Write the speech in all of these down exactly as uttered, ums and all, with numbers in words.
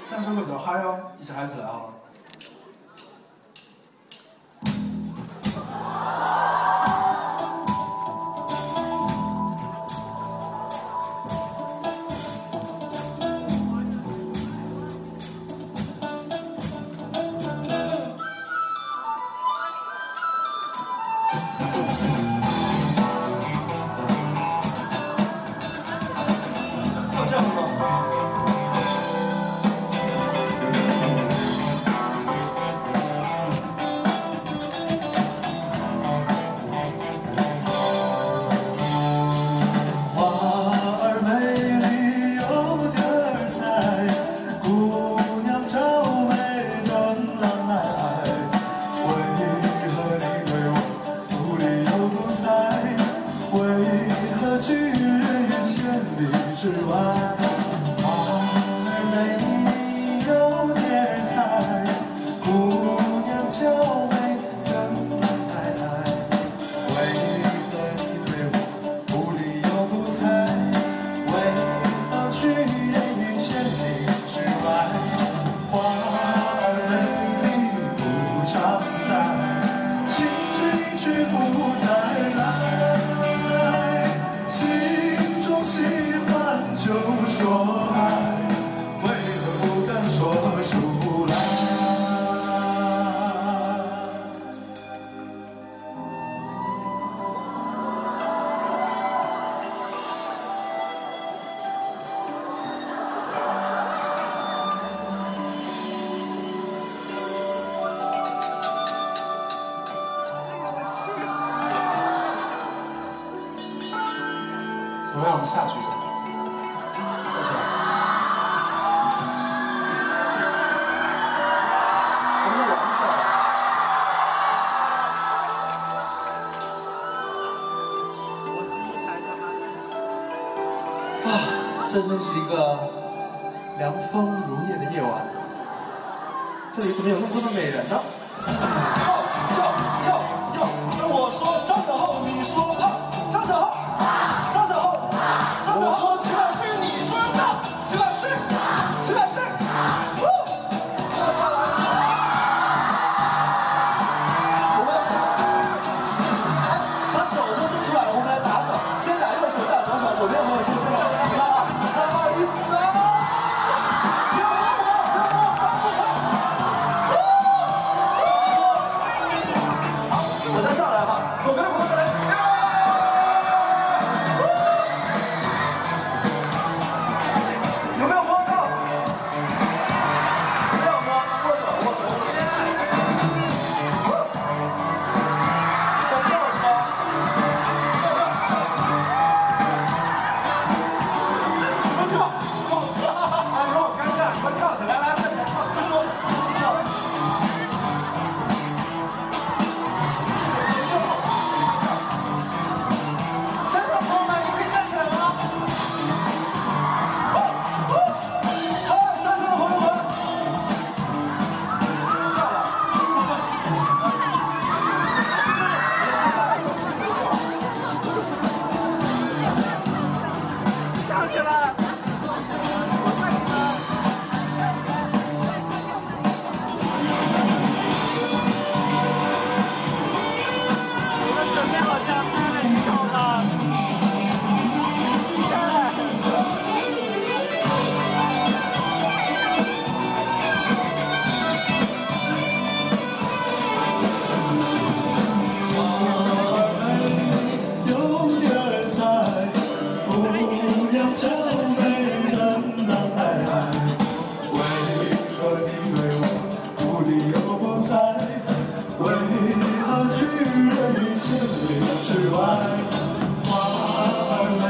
这样就会比较嗨哦，一起嗨起来好了。我让我们下去一下，下去。我们玩一下。啊，这真是一个凉风如夜的夜晚。这里怎么有那么多的美人呢？要要要要！跟我说张小厚，你说胖，张小厚。我说徐老师，你说到徐老师，徐老师，哦，那下来，我们把手都伸出来了，我们来打手，先打右手，大左手，左边朋友先先来，三二一，走！别摸我，别摸我，打不开。好，我再上来哈，左边的朋友来。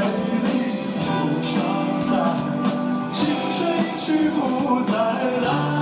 去不再来。